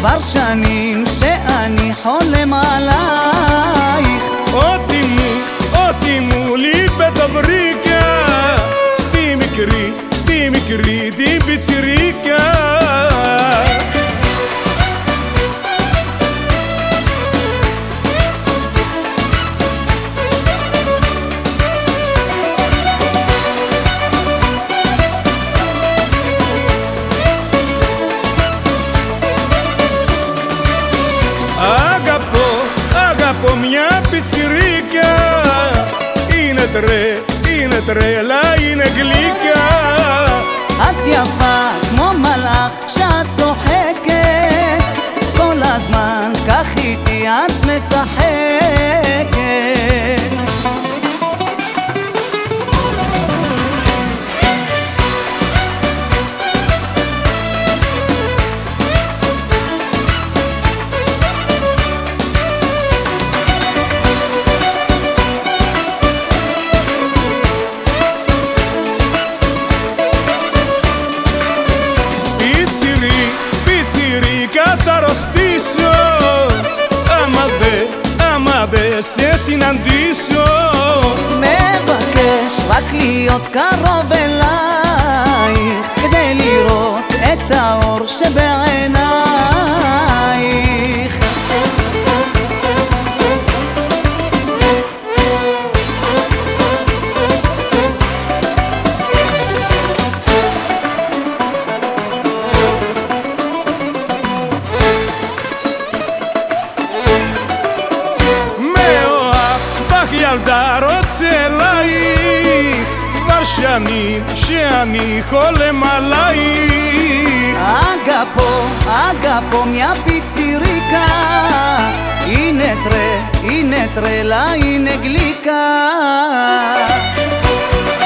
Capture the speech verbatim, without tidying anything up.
כבר שנים שאני חולם עלייך. אותי מו, אותי מולי בדבריקה, סתי מקרי, סתי מקרי די בציריקה. Μια πιτσιρίκια είναι τρε, είναι τρέλα, είναι γλυκιά. את יפה כמו מלאך כשאת צוחקת, כל הזמן כך איתי את משחקת. Θα αρρωστήσω άμα δε, άμα δε σε συναντήσω. מבקש רק להיות קרוב אלייך, כדי לראות את האור שבעינייך. ילדה רוצה אלייך, כבר שנים שאני חולם עלייך. Αγαπώ, αγαπώ μια πιτσιρίκα, είναι τρε, είναι τρέλα, είναι γλυκά.